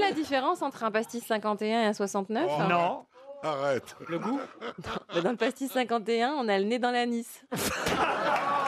la différence entre un pastis 51 et un 69 ? Non. Arrête. Le goût? Dans le pastis 51, on a le nez dans l'anis.